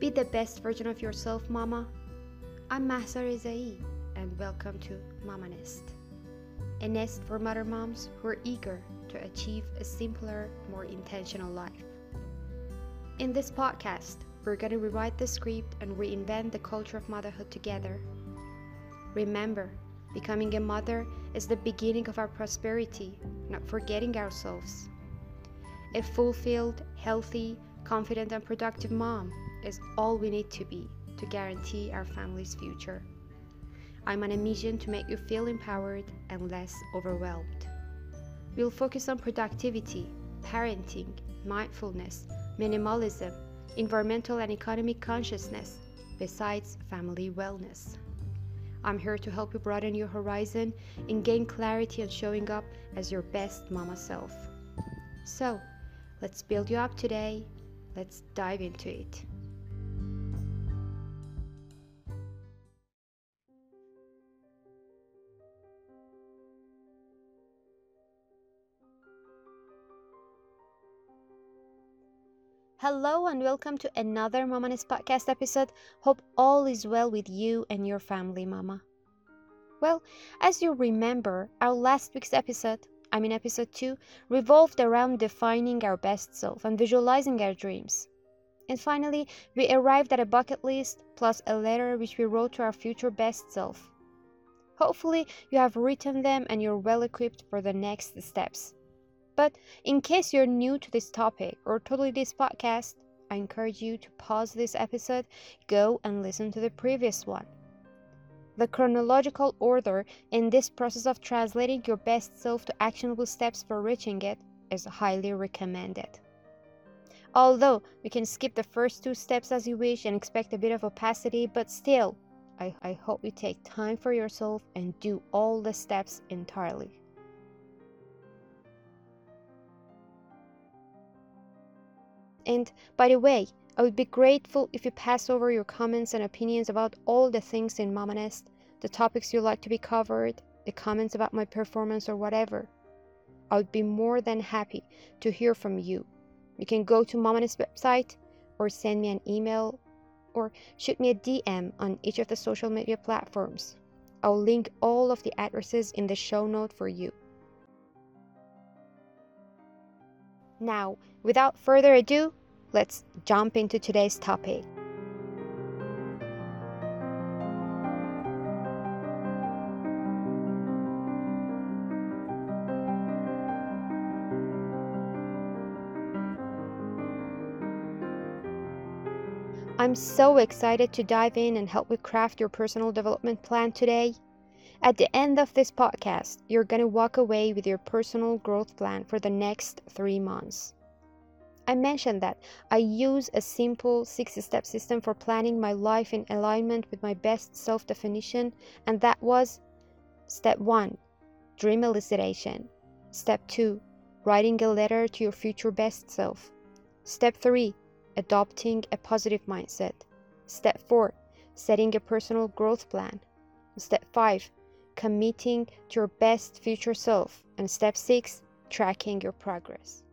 Be the best version of yourself, Mama. I'm Mahsa Rezai, and welcome to Mama Nest, a nest for mother moms who are eager to achieve a simpler, more intentional life. In this podcast, we're going to rewrite the script and reinvent the culture of motherhood together. Remember, becoming a mother is the beginning of our prosperity, not forgetting ourselves. A fulfilled, healthy, confident, and productive mom is all we need to be to guarantee our family's future. I'm on a mission to make you feel empowered and less overwhelmed. We'll focus on productivity, parenting, mindfulness, minimalism, environmental and economic consciousness, besides family wellness. I'm here to help you broaden your horizon and gain clarity on showing up as your best mama self. So, let's build you up today. Let's dive into it. Hello and welcome to another Mama Nest podcast episode. Hope all is well with you and your family, Mama. Well, as you remember, our last week's episode, episode 2, revolved around defining our best self and visualizing our dreams. And finally, we arrived at a bucket list plus a letter which we wrote to our future best self. Hopefully, you have written them and you're well equipped for the next steps. But in case you're new to this topic or totally this podcast, I encourage you to pause this episode, go and listen to the previous one. The chronological order in this process of translating your best self to actionable steps for reaching it is highly recommended. Although you can skip the first 2 steps as you wish and expect a bit of opacity, but still, I hope you take time for yourself and do all the steps entirely. And by the way, I would be grateful if you pass over your comments and opinions about all the things in Mama Nest, the topics you'd like to be covered, the comments about my performance or whatever. I would be more than happy to hear from you. You can go to Mama Nest website or send me an email or shoot me a DM on each of the social media platforms. I'll link all of the addresses in the show note for you. Now, without further ado, let's jump into today's topic. I'm so excited to dive in and help you craft your personal development plan today. At the end of this podcast, you're going to walk away with your personal growth plan for the next 3 months. I mentioned that I use a simple 6-step system for planning my life in alignment with my best self-definition, and that was Step 1, dream elucidation. Step 2, writing a letter to your future best self. Step 3, adopting a positive mindset. Step 4, setting a personal growth plan. Step 5, committing to your best future self. And step 6, tracking your progress.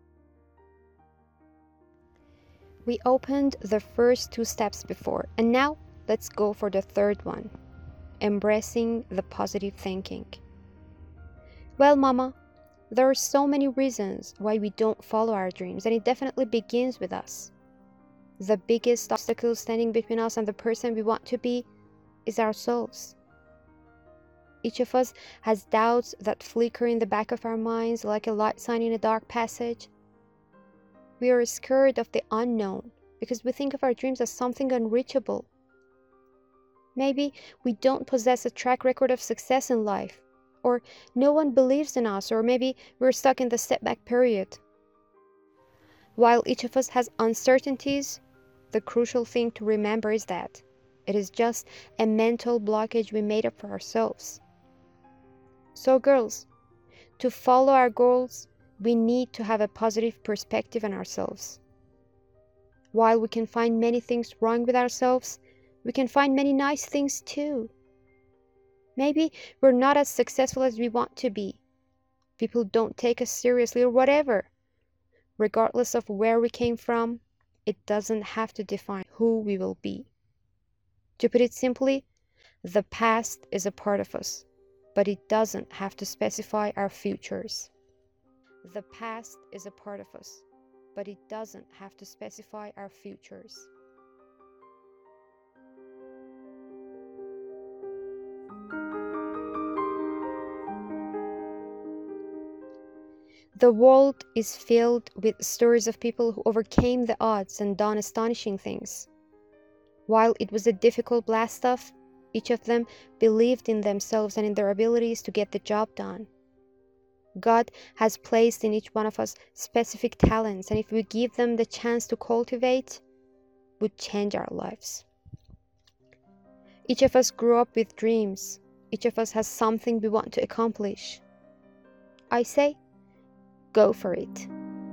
We opened the first 2 steps before, and now let's go for the third one, embracing the positive thinking. Well, Mama, there are so many reasons why we don't follow our dreams, and it definitely begins with us. The biggest obstacle standing between us and the person we want to be is ourselves. Each of us has doubts that flicker in the back of our minds like a light sign in a dark passage. We are scared of the unknown because we think of our dreams as something unreachable. Maybe we don't possess a track record of success in life, or no one believes in us, or maybe we're stuck in the setback period. While each of us has uncertainties, the crucial thing to remember is that it is just a mental blockage we made up for ourselves. So girls, to follow our goals, we need to have a positive perspective on ourselves. While we can find many things wrong with ourselves, we can find many nice things too. Maybe we're not as successful as we want to be. People don't take us seriously or whatever. Regardless of where we came from, it doesn't have to define who we will be. To put it simply, the past is a part of us, but it doesn't have to specify our futures. The past is a part of us, but it doesn't have to specify our futures. The world is filled with stories of people who overcame the odds and done astonishing things. While it was a difficult blast off, each of them believed in themselves and in their abilities to get the job done. God has placed in each one of us specific talents, and if we give them the chance to cultivate, would change our lives. Each of us grew up with dreams. Each of us has something we want to accomplish. I say, go for it.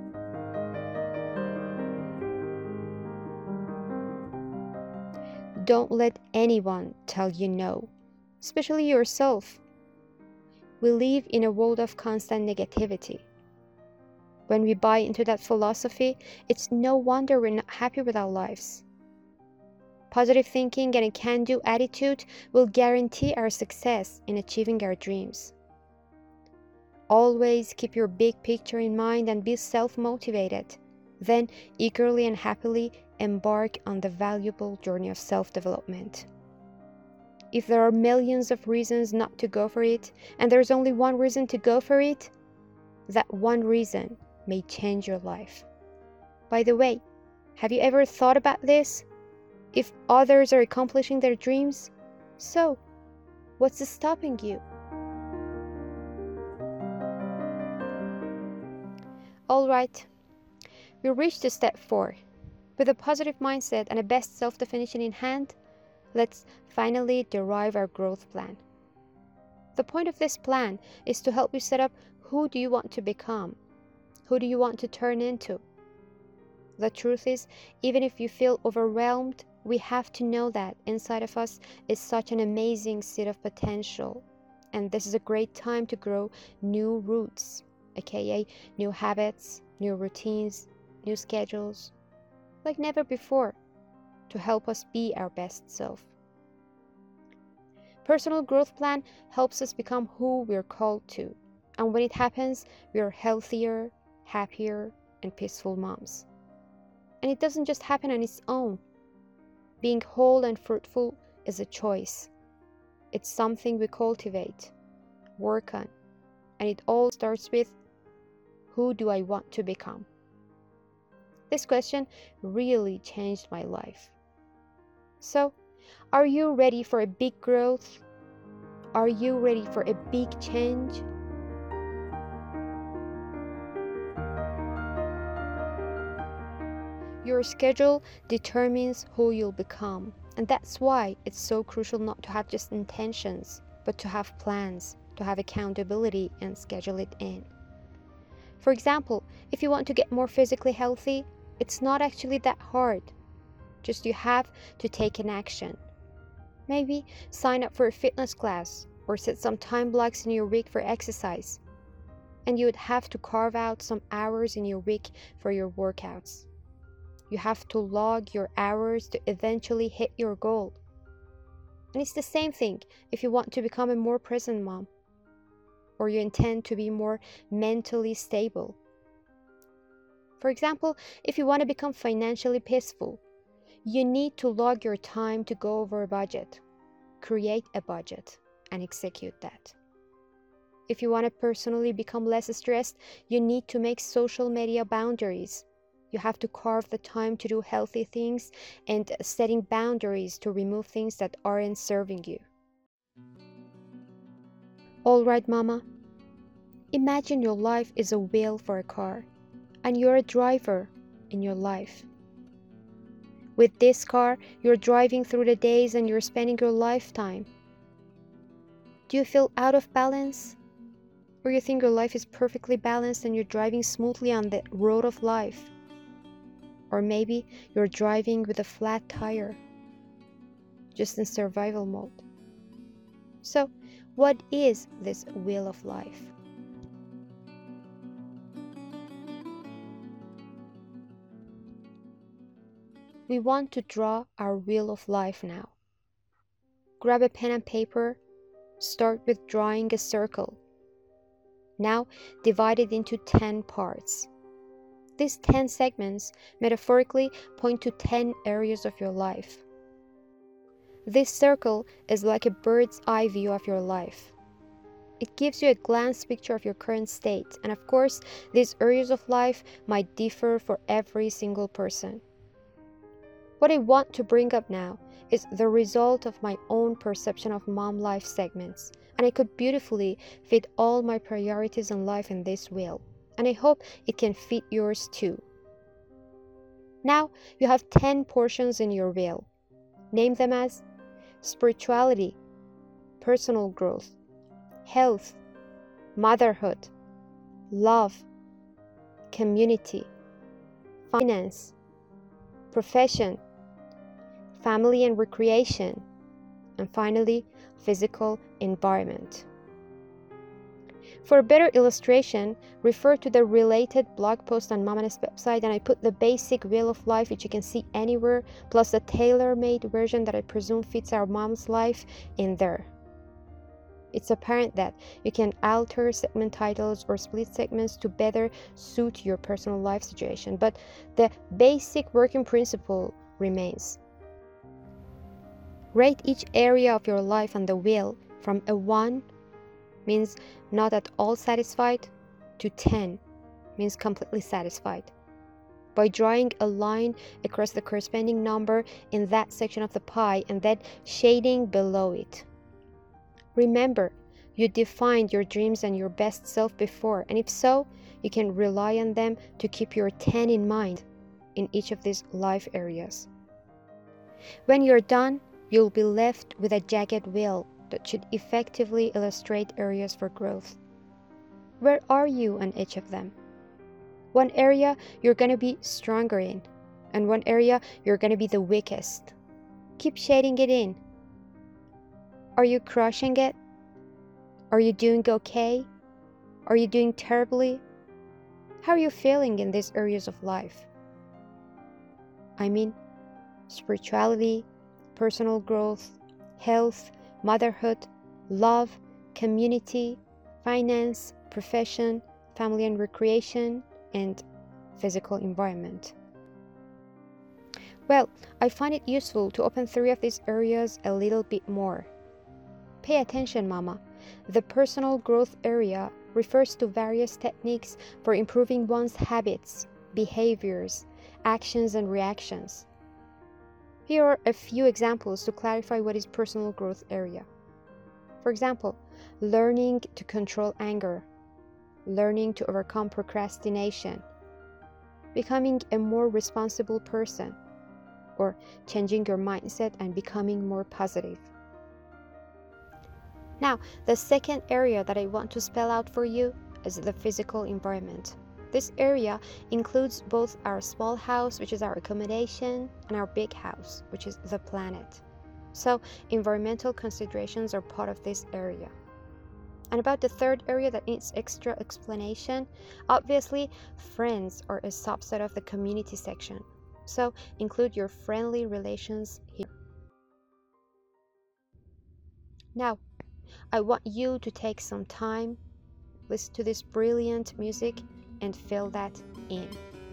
Don't let anyone tell you no, especially yourself. We live in a world of constant negativity. When we buy into that philosophy, it's no wonder we're not happy with our lives. Positive thinking and a can-do attitude will guarantee our success in achieving our dreams. Always keep your big picture in mind and be self-motivated. Then eagerly and happily embark on the valuable journey of self-development. If there are millions of reasons not to go for it, and there's only one reason to go for it, that one reason may change your life. By the way, have you ever thought about this? If others are accomplishing their dreams, so what's stopping you? All right, we reached to step 4. With a positive mindset and a best self-definition in hand, let's finally derive our growth plan. The point of this plan is to help you set up who do you want to become? Who do you want to turn into? The truth is, even if you feel overwhelmed, we have to know that inside of us is such an amazing seed of potential. And this is a great time to grow new roots, aka new habits, new routines, new schedules, like never before, to help us be our best self. Personal growth plan helps us become who we're called to, and when it happens, we are healthier, happier, and peaceful moms. And it doesn't just happen on its own. Being whole and fruitful is a choice. It's something we cultivate, work on, and it all starts with, who do I want to become? This question really changed my life. So, are you ready for a big growth? Are you ready for a big change? Your schedule determines who you'll become, and that's why it's so crucial not to have just intentions, but to have plans, to have accountability and schedule it in. For example, if you want to get more physically healthy, it's not actually that hard. Just you have to take an action. Maybe sign up for a fitness class or set some time blocks in your week for exercise. And you would have to carve out some hours in your week for your workouts. You have to log your hours to eventually hit your goal. And it's the same thing if you want to become a more present mom, or you intend to be more mentally stable. For example, if you want to become financially peaceful, you need to log your time to go over a budget, create a budget, and execute that. If you want to personally become less stressed, you need to make social media boundaries. You have to carve the time to do healthy things and setting boundaries to remove things that aren't serving you. All right, mama. Imagine your life is a wheel for a car, and you're a driver in your life. With this car, you're driving through the days and you're spending your lifetime. Do you feel out of balance? Or you think your life is perfectly balanced and you're driving smoothly on the road of life? Or maybe you're driving with a flat tire, just in survival mode. So, what is this wheel of life? We want to draw our wheel of life now. Grab a pen and paper, start with drawing a circle. Now divide it into 10 parts. These 10 segments metaphorically point to 10 areas of your life. This circle is like a bird's eye view of your life. It gives you a glance picture of your current state, and of course, these areas of life might differ for every single person. What I want to bring up now is the result of my own perception of mom life segments, and I could beautifully fit all my priorities in life in this wheel, and I hope it can fit yours too. Now you have 10 portions in your wheel. Name them as spirituality, personal growth, health, motherhood, love, community, finance, profession, family and recreation, and finally, physical environment. For a better illustration, refer to the related blog post on Mama Nest website, and I put the basic wheel of life which you can see anywhere, plus a tailor-made version that I presume fits our mom's life in there. It's apparent that you can alter segment titles or split segments to better suit your personal life situation, but the basic working principle remains. Rate each area of your life on the wheel from a 1 means not at all satisfied to 10 means completely satisfied, by drawing a line across the corresponding number in that section of the pie and then shading below it. Remember, you defined your dreams and your best self before, and if so, you can rely on them to keep your 10 in mind in each of these life areas. When you're done, you'll be left with a jagged wheel that should effectively illustrate areas for growth. Where are you on each of them? One area you're going to be stronger in, and one area you're going to be the weakest. Keep shading it in. Are you crushing it? Are you doing okay? Are you doing terribly? How are you feeling in these areas of life? I mean, spirituality, personal growth, health, motherhood, love, community, finance, profession, family and recreation, and physical environment. Well, I find it useful to open 3 of these areas a little bit more. Pay attention, Mama. The personal growth area refers to various techniques for improving one's habits, behaviors, actions, and reactions. Here are a few examples to clarify what is personal growth area. For example, learning to control anger, learning to overcome procrastination, becoming a more responsible person, or changing your mindset and becoming more positive. Now, the second area that I want to spell out for you is the physical environment. This area includes both our small house, which is our accommodation, and our big house, which is the planet. So, environmental considerations are part of this area. And about the third area that needs extra explanation, obviously, friends are a subset of the community section. So, include your friendly relations here. Now, I want you to take some time, listen to this brilliant music, and fill that in.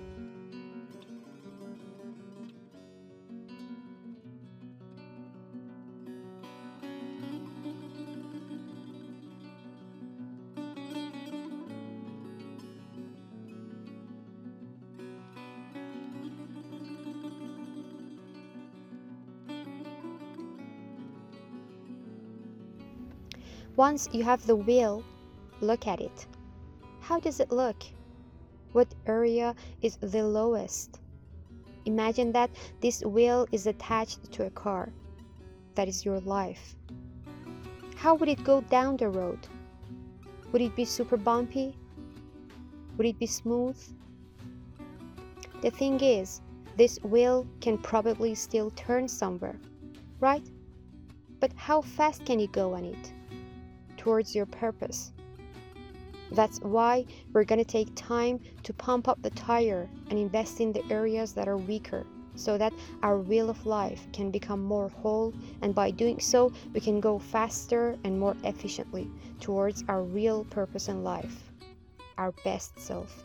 Once you have the wheel, look at it. How does it look? What area is the lowest? Imagine that this wheel is attached to a car. That is your life. How would it go down the road? Would it be super bumpy? Would it be smooth? The thing is, this wheel can probably still turn somewhere, right? But how fast can you go on it? Towards your purpose. That's why we're going to take time to pump up the tire and invest in the areas that are weaker so that our wheel of life can become more whole, and by doing so, we can go faster and more efficiently towards our real purpose in life, our best self.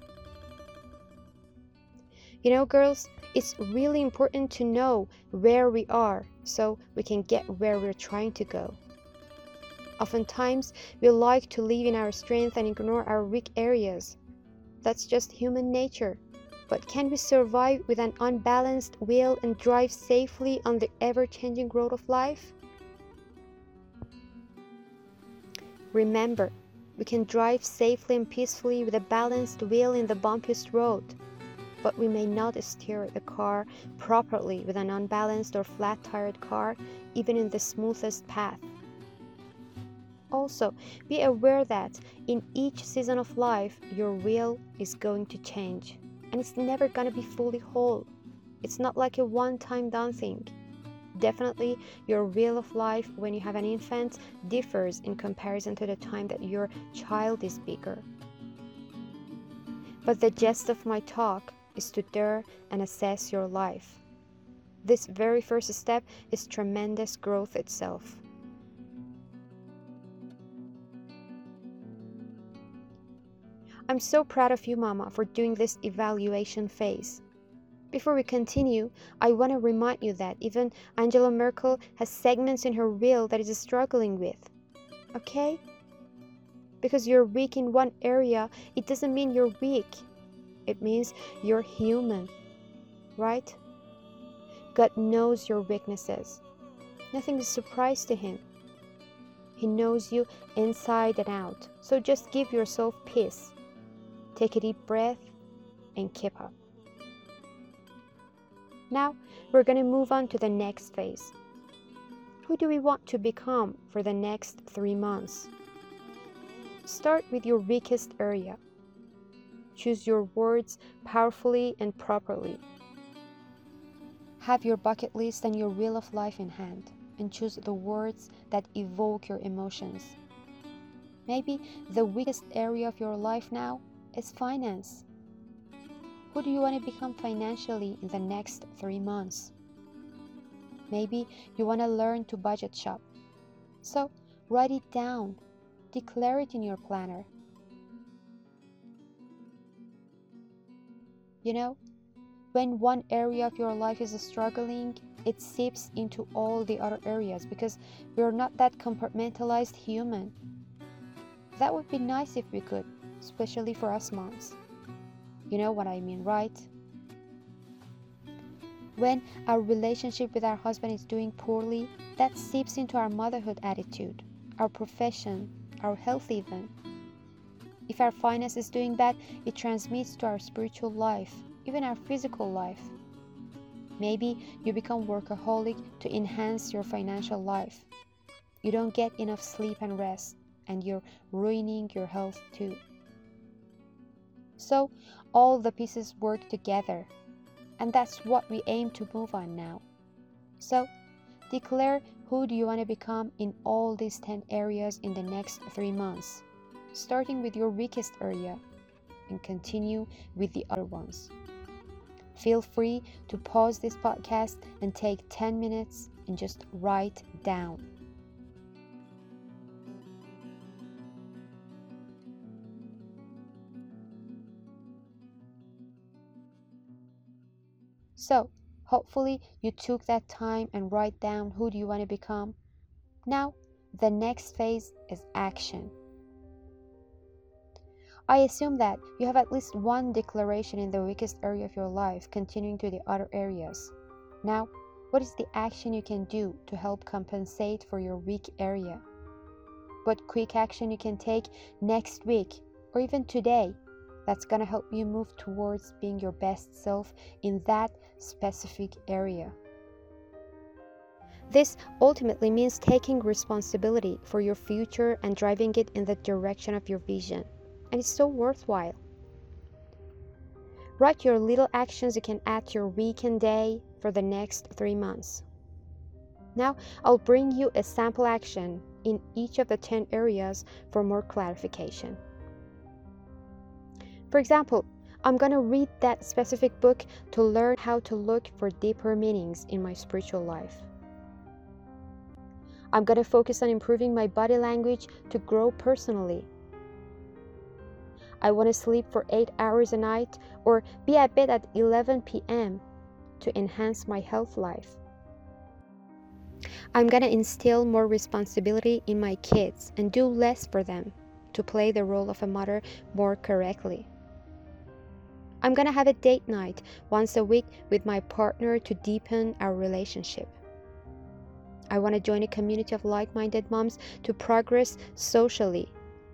You know, girls, it's really important to know where we are so we can get where we're trying to go. Oftentimes, we like to live in our strength and ignore our weak areas. That's just human nature. But can we survive with an unbalanced will and drive safely on the ever-changing road of life? Remember, we can drive safely and peacefully with a balanced wheel in the bumpiest road, but we may not steer the car properly with an unbalanced or flat-tired car, even in the smoothest path. Also, be aware that in each season of life, your wheel is going to change, and it's never going to be fully whole. It's not like a one-time done thing. Definitely, your wheel of life when you have an infant differs in comparison to the time that your child is bigger. But the gist of my talk is to dare and assess your life. This very first step is tremendous growth itself. I'm so proud of you, Mama, for doing this evaluation phase. Before we continue, I want to remind you that even Angela Merkel has segments in her will that is struggling with. Okay? Because you're weak in one area, it doesn't mean you're weak. It means you're human, right? God knows your weaknesses. Nothing is a surprise to Him. He knows you inside and out. So just give yourself peace. Take a deep breath and keep up. Now, we're going to move on to the next phase. Who do we want to become for the next 3 months? Start with your weakest area. Choose your words powerfully and properly. Have your bucket list and your wheel of life in hand, and choose the words that evoke your emotions. Maybe the weakest area of your life now is finance. Who do you want to become financially in the next 3 months? Maybe you want to learn to budget shop. So write it down. Declare it in your planner. You know, when one area of your life is struggling, it seeps into all the other areas because we're not that compartmentalized human. That would be nice if we could, especially for us moms. You know what I mean, right? When our relationship with our husband is doing poorly, that seeps into our motherhood attitude, our profession, our health even. If our finance is doing bad, it transmits to our spiritual life, even our physical life. Maybe you become workaholic to enhance your financial life. You don't get enough sleep and rest, and you're ruining your health too. So, all the pieces work together, and that's what we aim to move on now. So, declare who do you want to become in all these 10 areas in the next 3 months, starting with your weakest area, and continue with the other ones. Feel free to pause this podcast and take 10 minutes and just write down. So, hopefully you took that time and write down who do you want to become. Now, the next phase is action. I assume that you have at least one declaration in the weakest area of your life, continuing to the other areas. Now, what is the action you can do to help compensate for your weak area? What quick action you can take next week or even today that's going to help you move towards being your best self in that specific area? This ultimately means taking responsibility for your future and driving it in the direction of your vision. And it's so worthwhile. Write your little actions you can add to your week and day for the next 3 months. Now, I'll bring you a sample action in each of the 10 areas for more clarification. For example, I'm gonna read that specific book to learn how to look for deeper meanings in my spiritual life. I'm gonna focus on improving my body language to grow personally. I want to sleep for 8 hours a night or be at bed at 11 p.m. to enhance my health life. I'm gonna instill more responsibility in my kids and do less for them to play the role of a mother more correctly. I'm gonna have a date night once a week with my partner to deepen our relationship. I want to join a community of like-minded moms to progress socially.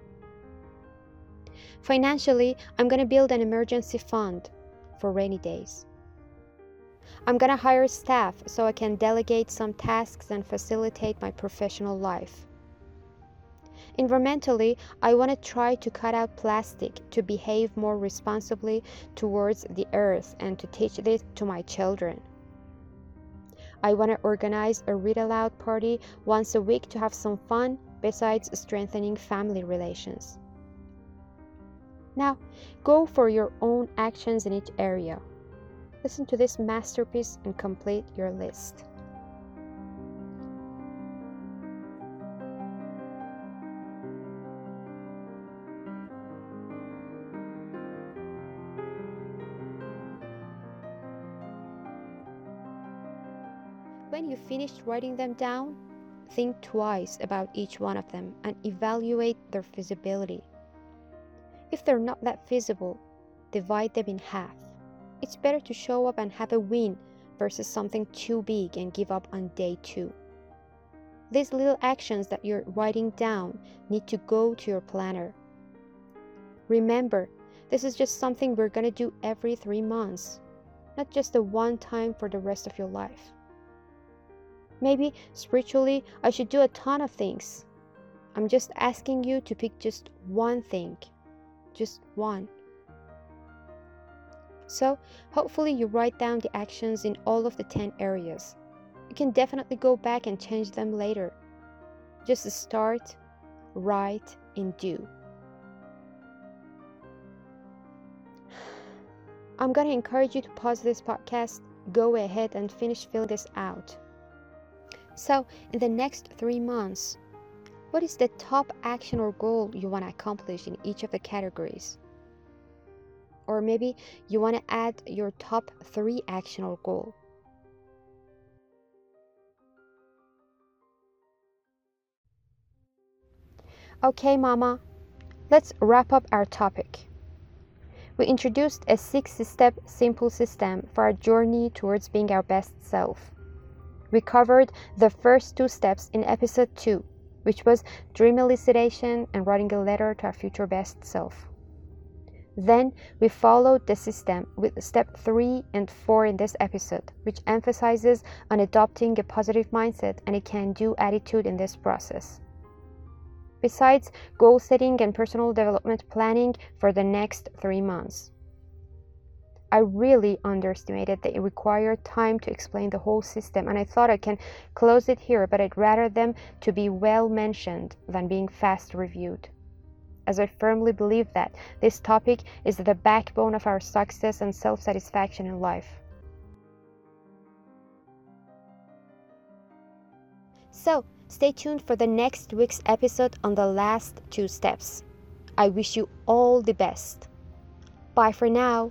Financially, I'm gonna build an emergency fund for rainy days. I'm gonna hire staff so I can delegate some tasks and facilitate my professional life. Environmentally, I want to try to cut out plastic to behave more responsibly towards the earth and to teach this to my children. I want to organize a read aloud party once a week to have some fun besides strengthening family relations. Now, go for your own actions in each area. Listen to this masterpiece and complete your list. When you finished writing them down, think twice about each one of them and evaluate their feasibility. If they're not that feasible, divide them in half. It's better to show up and have a win versus something too big and give up on day 2. These little actions that you're writing down need to go to your planner. Remember, this is just something we're going to do every 3 months, not just a one time for the rest of your life. Maybe spiritually, I should do a ton of things. I'm just asking you to pick just one thing. Just one. So, hopefully you write down the actions in all of the 10 areas. You can definitely go back and change them later. Just start, write, and do. I'm going to encourage you to pause this podcast, go ahead and finish filling this out. So, in the next 3 months, what is the top action or goal you want to accomplish in each of the categories? Or maybe you want to add your top 3 action or goal. Okay, Mama, let's wrap up our topic. We introduced a 6-step simple system for our journey towards being our best self. We covered the first 2 steps in episode 2, which was dream elucidation and writing a letter to our future best self. Then we followed the system with step 3 and 4 in this episode, which emphasizes on adopting a positive mindset and a can-do attitude in this process. Besides goal setting and personal development planning for the next 3 months. I really underestimated that it required time to explain the whole system, and I thought I can close it here, but I'd rather them to be well mentioned than being fast reviewed, as I firmly believe that this topic is the backbone of our success and self-satisfaction in life. So, stay tuned for the next week's episode on the last 2 steps. I wish you all the best. Bye for now.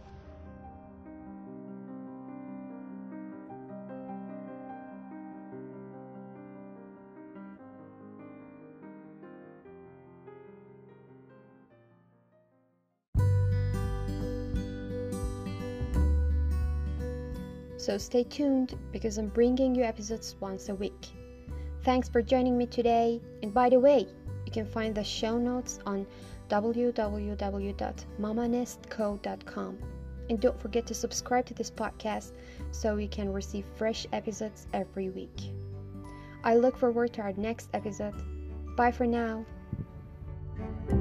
So stay tuned because I'm bringing you episodes once a week. Thanks for joining me today. And by the way, you can find the show notes on www.mamanestco.com. And don't forget to subscribe to this podcast so you can receive fresh episodes every week. I look forward to our next episode. Bye for now.